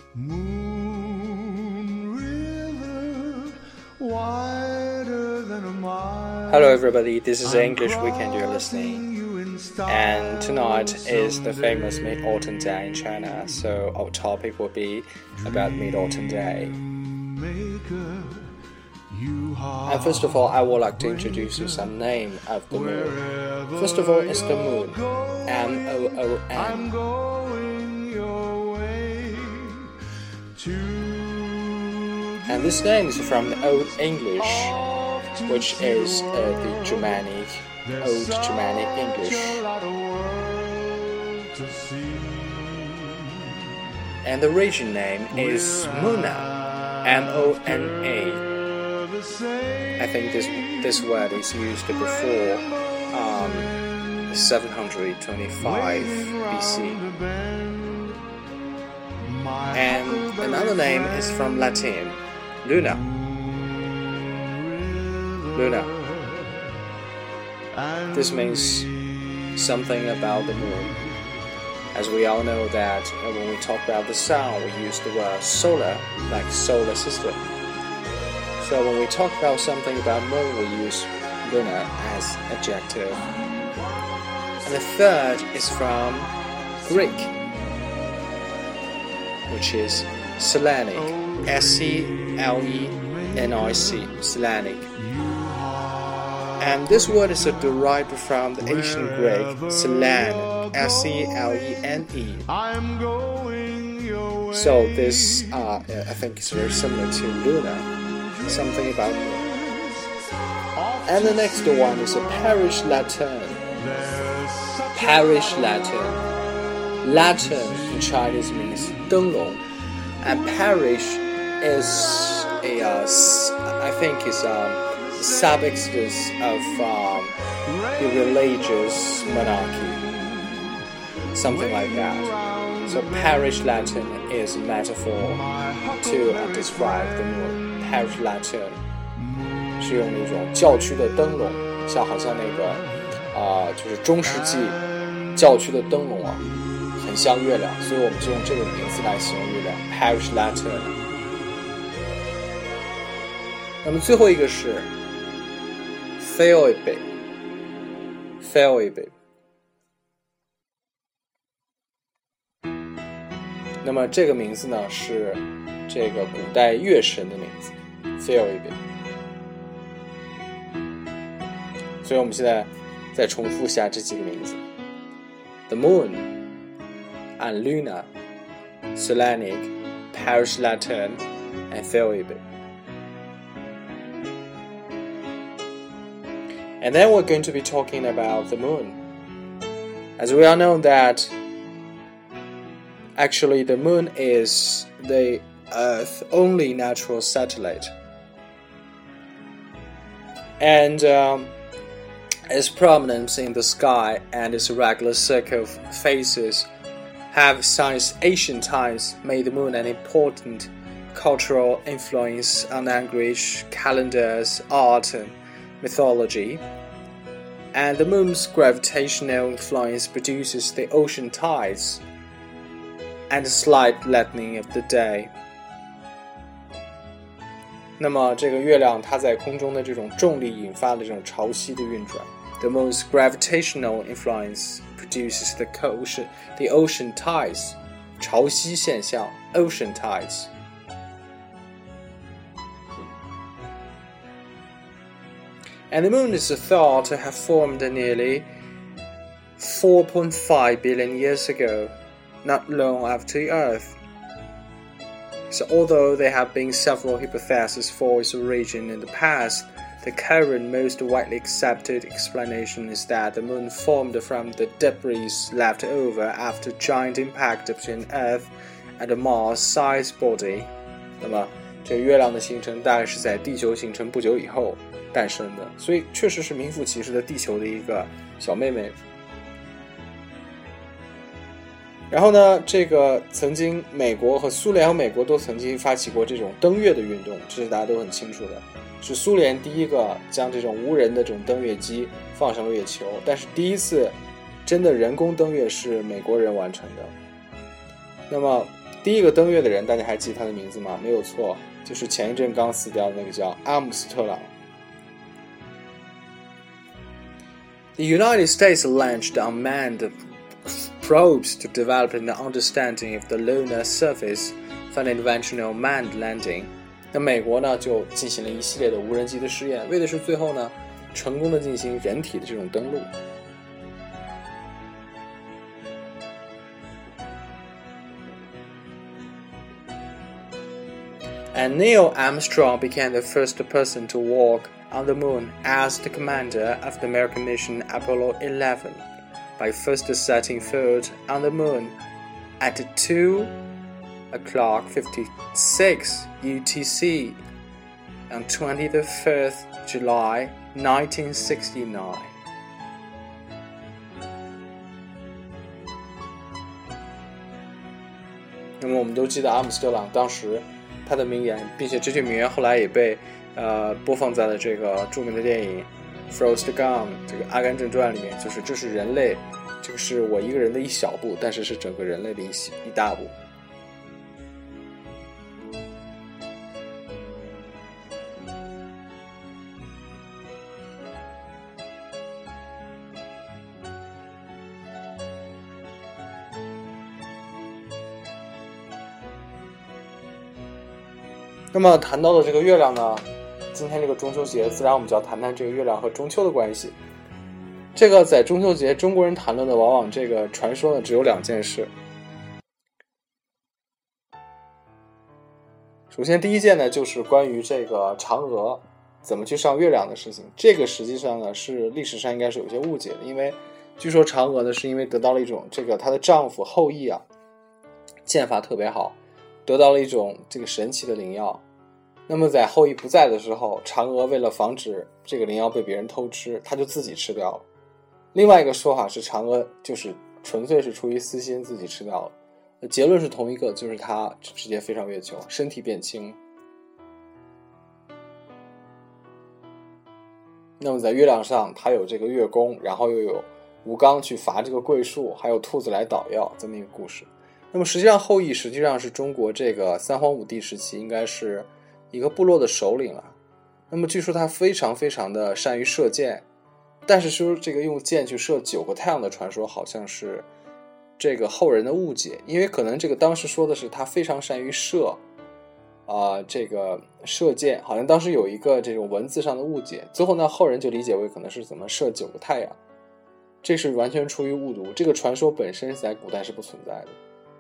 Hello everybody, this is English Weekend you're listening. And tonight is the famous Mid-Autumn Day in China, so our topic will be about Mid-Autumn Day. And first of all, I would like to introduce you some name of the moon. First of all, it's the moon, M-O-O-N. And this name is from the Old English, which is the Old Germanic English. And the region name is Mona, M-O-N-A. I think this word is used before 725 BC. And another name is from Latin, Luna. This means something about the moon. As we all know that when we talk about the sun, we use the word solar, like solar system. So when we talk about something about moon, we use Luna as adjective. And the third is from Greek, which is Selenic, S-C-L-E-N-I-C, Selenic. And this word is derived from the ancient Greek Selene, S-E-L-E-N-E. So this, I think, is very similar to Luna, something about moon. And the next one is a parish Latin. Parish Latin. Latin in Chinese means 灯笼, and parish is I think is sub-exodus of the religious monarchy, something like that. So parish Latin is a metaphor to describe the moon. Parish Latin 是用那种教区的灯笼，好像那个就是中世纪教区的灯笼啊，很像月亮，所以我们就用这个名字来形容月亮 Parish Latin。 那么最后一个是 Phoebe。 那么这个名字呢是这个古代月神的名字 Phoebe。 所以我们现在再重复下这几个名字 The Moon and Luna, Selenic, Parish Latin, and Phoebe. And then we're going to be talking about the moon. As we all know that actually the moon is the Earth's only natural satellite. And its prominence in the sky and its regular circle of phases have since ancient times made the moon an important cultural influence on language, calendars, art, and mythology. And the moon's gravitational influence produces the ocean tides and a slight lengthening of the day. 那么这个月亮它在空中的这种重力引发的这种潮汐的运转 The moon's gravitational influence produces the ocean tides 潮汐现象 ocean tides. And the moon is thought to have formed nearly 4.5 billion years ago, not long after the Earth. So although there have been several hypotheses for its origin in the past, the current most widely accepted explanation is that the moon formed from the debris left over after giant impact between Earth and a Mars-sized body. 那么这个月亮的形成大概是在地球形成不久以后诞生的，所以确实是名副其实的地球的一个小妹妹。然后呢，这个曾经美国和苏联和美国都曾经发起过这种登月的运动，这是大家都很清楚的。是苏联第一个将这种无人的这种登月机放上了月球，但是第一次真的人工登月是美国人完成的。那么第一个登月的人大家还记得他的名字吗？没有错，就是前一阵刚死掉的那个叫阿姆斯特朗。The United States launched unmanned probes to develop an understanding of the lunar surface for an eventual manned landing. 那美国呢就进行了一系列的无人机的试验，为的是最后呢成功的进行人体的这种登陆。And Neil Armstrong became the first person to walk on the moon as the commander of the American mission Apollo 11 by first setting foot on the moon at 2:56 UTC on 25th July 1969. 那么我们都记得阿姆斯特朗当时他的名言，并且这句名言后来也被播放在了这个著名的电影 Forrest Gump 这个阿甘正传里面，就是这是人类，这个是我一个人的一小步，但是是整个人类的一大步。那么谈到了这个月亮呢，今天这个中秋节，自然我们就要谈谈这个月亮和中秋的关系。这个在中秋节，中国人谈论的往往这个传说呢，只有2件事。首先第一件呢，就是关于这个嫦娥怎么去上月亮的事情。这个实际上呢，是历史上应该是有些误解的，因为据说嫦娥呢，是因为得到了一种这个她的丈夫后羿啊，剑法特别好，得到了一种这个神奇的灵药。那么在后羿不在的时候，嫦娥为了防止这个灵药被别人偷吃，她就自己吃掉了。另外一个说法是嫦娥就是纯粹是出于私心自己吃掉了。结论是同一个，就是她直接飞上月球，身体变轻。那么在月亮上，她有这个月宫，然后又有吴刚去伐这个桂树，还有兔子来捣药，这么一个故事。那么实际上后羿实际上是中国这个三皇五帝时期应该是一个部落的首领了。那么据说他非常非常的善于射箭，但是说这个用箭去射9个太阳的传说好像是这个后人的误解，因为可能这个当时说的是他非常善于射这个射箭，好像当时有一个这种文字上的误解，最后呢后人就理解为可能是怎么射9个太阳，这是完全出于误读，这个传说本身在古代是不存在的。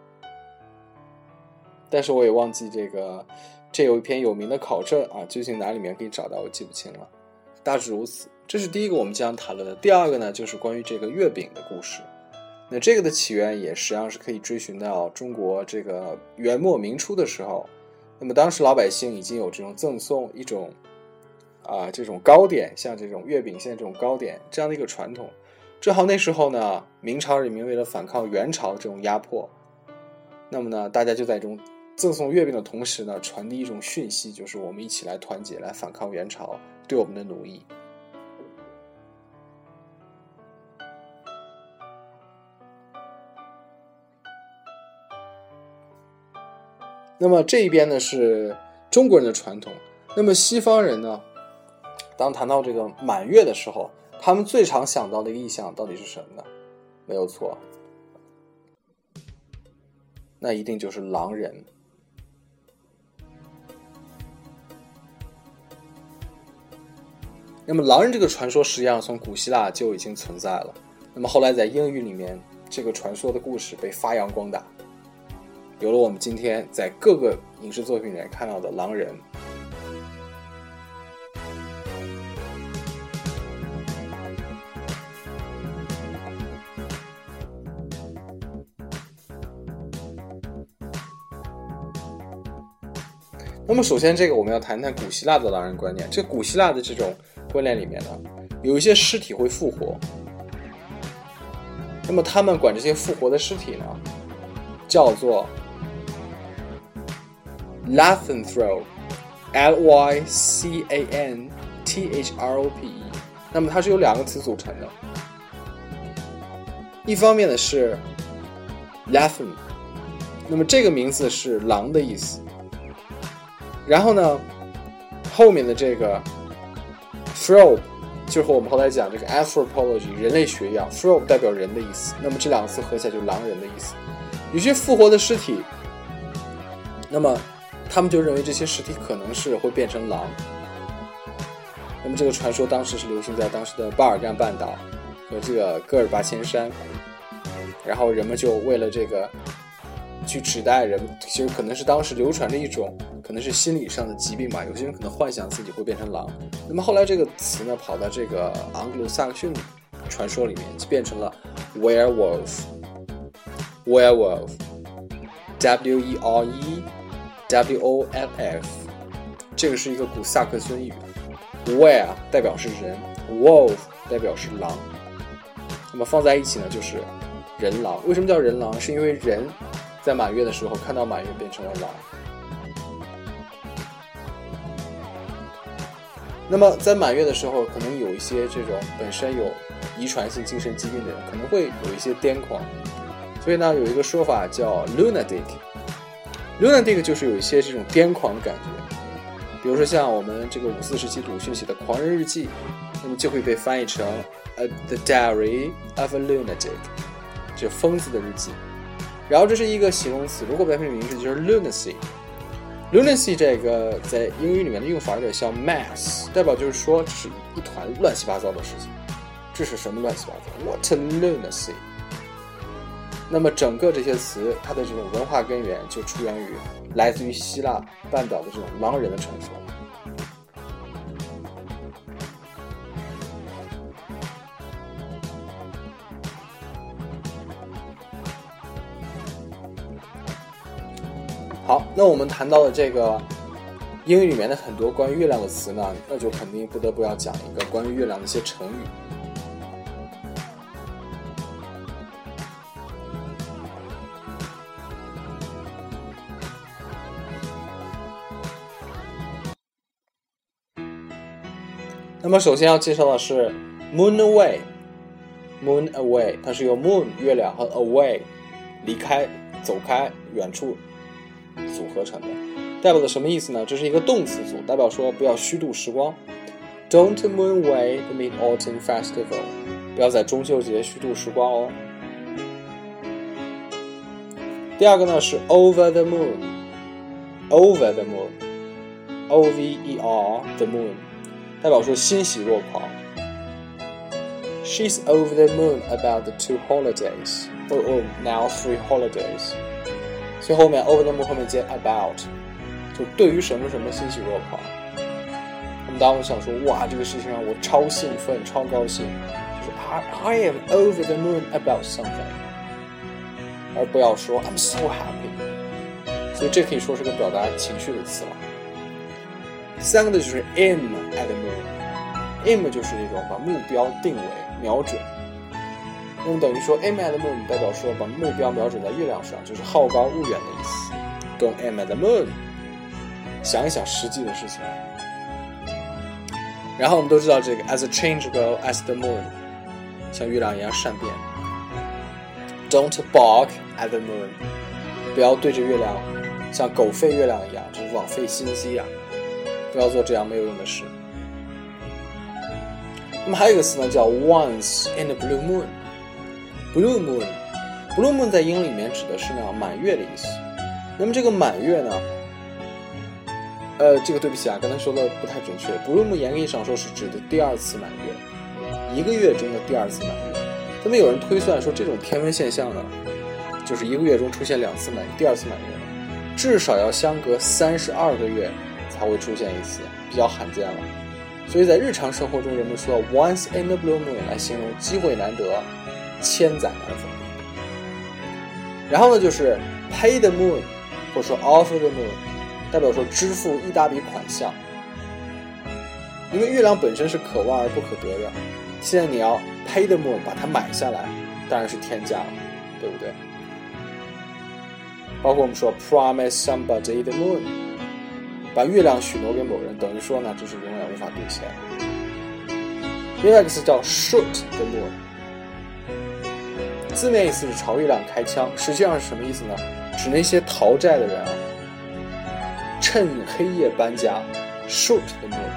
但是我也忘记这有一篇有名的考证啊，究竟哪里面可以找到我记不清了。大致如此，这是第一个我们将谈论的。第二个呢，就是关于这个月饼的故事。那这个的起源也实际上是可以追寻到中国这个元末明初的时候。那么当时老百姓已经有这种赠送一种这种糕点，像这种月饼馅这种糕点这样的一个传统。正好那时候呢，明朝人民为了反抗元朝这种压迫，那么呢，大家就在这种赠送月饼的同时呢，传递一种讯息，就是我们一起来团结，来反抗元朝对我们的奴役。那么这一边呢是中国人的传统，那么西方人呢，当谈到这个满月的时候，他们最常想到的一个意象到底是什么呢？没有错，那一定就是狼人。那么狼人这个传说实际上从古希腊就已经存在了，那么后来在英语里面，这个传说的故事被发扬光大，有了我们今天在各个影视作品里面看到的狼人。那么首先这个我们要谈谈古希腊的狼人观念。这古希腊的这种观念里面呢，有一些尸体会复活，那么他们管这些复活的尸体呢叫做 Lycanthrope Lycanthrope， 那么它是由2个词组成的，一方面呢是 Lycan 那么这个名字是狼的意思。然后呢，后面的这个 Phrobe 就和我们后来讲这个 anthropology 人类学一样， Phrobe 代表人的意思，那么这两个词合起来就是狼人的意思。有些复活的尸体，那么他们就认为这些尸体可能是会变成狼。那么这个传说当时是流行在当时的巴尔干半岛和这个戈尔巴阡山，然后人们就为了这个去指代人，其实可能是当时流传着一种可能是心理上的疾病吧，有些人可能幻想自己会变成狼。那么后来这个词呢跑到这个盎格鲁撒克逊传说里面，就变成了 werewolf werewolf W-E-R-E-W-O-L-F， 这个是一个古萨克逊语。Were 代表是人， Wolf 代表是狼，那么放在一起呢就是人狼。为什么叫人狼？是因为人在满月的时候看到满月变成了狼。那么在满月的时候，可能有一些这种本身有遗传性精神疾病的人可能会有一些癫狂，所以呢有一个说法叫 lunatic 就是有一些这种癫狂的感觉。比如说像我们这个54时期鲁迅写的《狂人日记》，那么就会被翻译成 The Diary of a Lunatic， 就疯子的日记。然后这是一个形容词，如果变成名字就是 lunacy。lunacy 这个在英语里面的用法有点像 mass， 代表就是说这是一团乱七八糟的事情。这是什么乱七八糟 ？What a lunacy！ 那么整个这些词，它的这种文化根源就出源于来自于希腊半岛的这种狼人的传说。好，那我们谈到了这个英语里面的很多关于月亮的词呢，那就肯定不得不要讲一个关于月亮的一些成语。那么首先要介绍的是 moon away，moon away 它是由 moon 月亮和 away 离开走开远处组合成的，代表的什么意思呢？这是一个动词组，代表说不要虚度时光。 Don't moon away the Mid-Autumn Festival， 不要在中秋节虚度时光哦。第二个呢是 over the moon， over the moon O-V-E-R the moon， 代表说欣喜若狂。 She's over the moon about the 2 holidays or now 3 holidays， 所以后面 over the moon 后面接 about， 就对于什么什么欣喜若狂。我们当时想说，哇，这个事情让我超兴奋超高兴，就是 I am over the moon about something， 而不要说 I'm so happy。 所以这可以说是个表达情绪的词了。第三个呢就是 aim at the moon，aim 就是一种把目标定为瞄准，那么等于说 aim at the moon 代表说把目标瞄准在月亮上，就是好高骛远的意思。 Don't aim at the moon， 想一想实际的事情。然后我们都知道这个 as a changeable as the moon， 像月亮一样善变。 Don't bark at the moon， 不要对着月亮像狗吠月亮一样，就是枉费心机啊，不要做这样没有用的事。那么还有一个词呢叫 once in a blue moon， blue moon 在英文里面指的是呢满月的意思。那么这个满月呢这个对不起啊，刚才说的不太准确。blue moon 严格意义上说是指的第二次满月，一个月中的第二次满月。那么有人推算说这种天文现象呢，就是一个月中出现2次满月，第二次满月至少要相隔32个月才会出现一次，比较罕见了。所以在日常生活中，人们说 once in a blue moon 来形容机会难得，千载难逢。然后呢就是 pay the moon 或者说 offer the moon， 代表说支付一大笔款项。因为月亮本身是可望而不可得的，现在你要 pay the moon 把它买下来，当然是天价了，对不对？包括我们说 promise somebody the moon， 把月亮许诺给某人，等于说呢这是永远无法兑现。另外一个词叫 shoot the moon， 字面意思是朝月亮开枪，实际上是什么意思呢？指那些逃债的人啊，趁黑夜搬家 shoot the moon。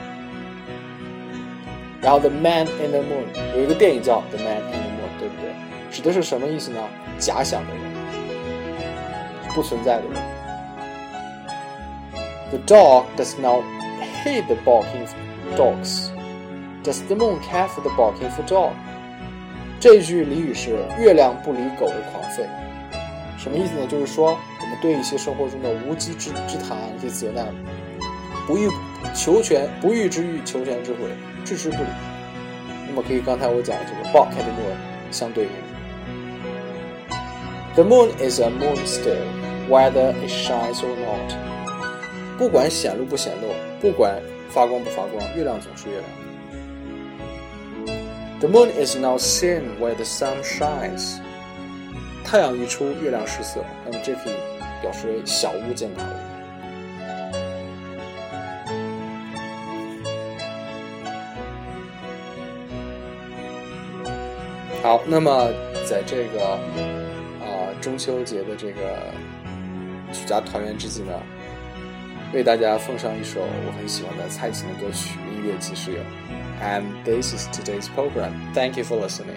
然后 The Man in the Moon 有一个电影叫 The Man in the Moon， 对不对？指的是什么意思呢？假想的人，不存在的人。The dog does not hate the barking dogs. Does the moon care for the barking for dog? 这一句俚语是月亮不理狗的狂吠。什么意思呢？就是说我们对一些生活中的无稽之谈、一些责难，不欲之欲，求全之悔，置之不理。那么可以刚才我讲的这个 bark at the moon 相对应。The moon is a moon still, whether it shines or not. 不管显露不显露，不管发光不发光，月亮总是月亮。The moon is not seen where the sun shines. 太阳一出，月亮失色，那么这可以表示为小巫见大巫。好，那么在这个中秋节的这个举家团圆之际呢，为大家奉上一首我很喜欢的蔡琴的歌曲《音乐即是有》。And this is today's program. Thank you for listening.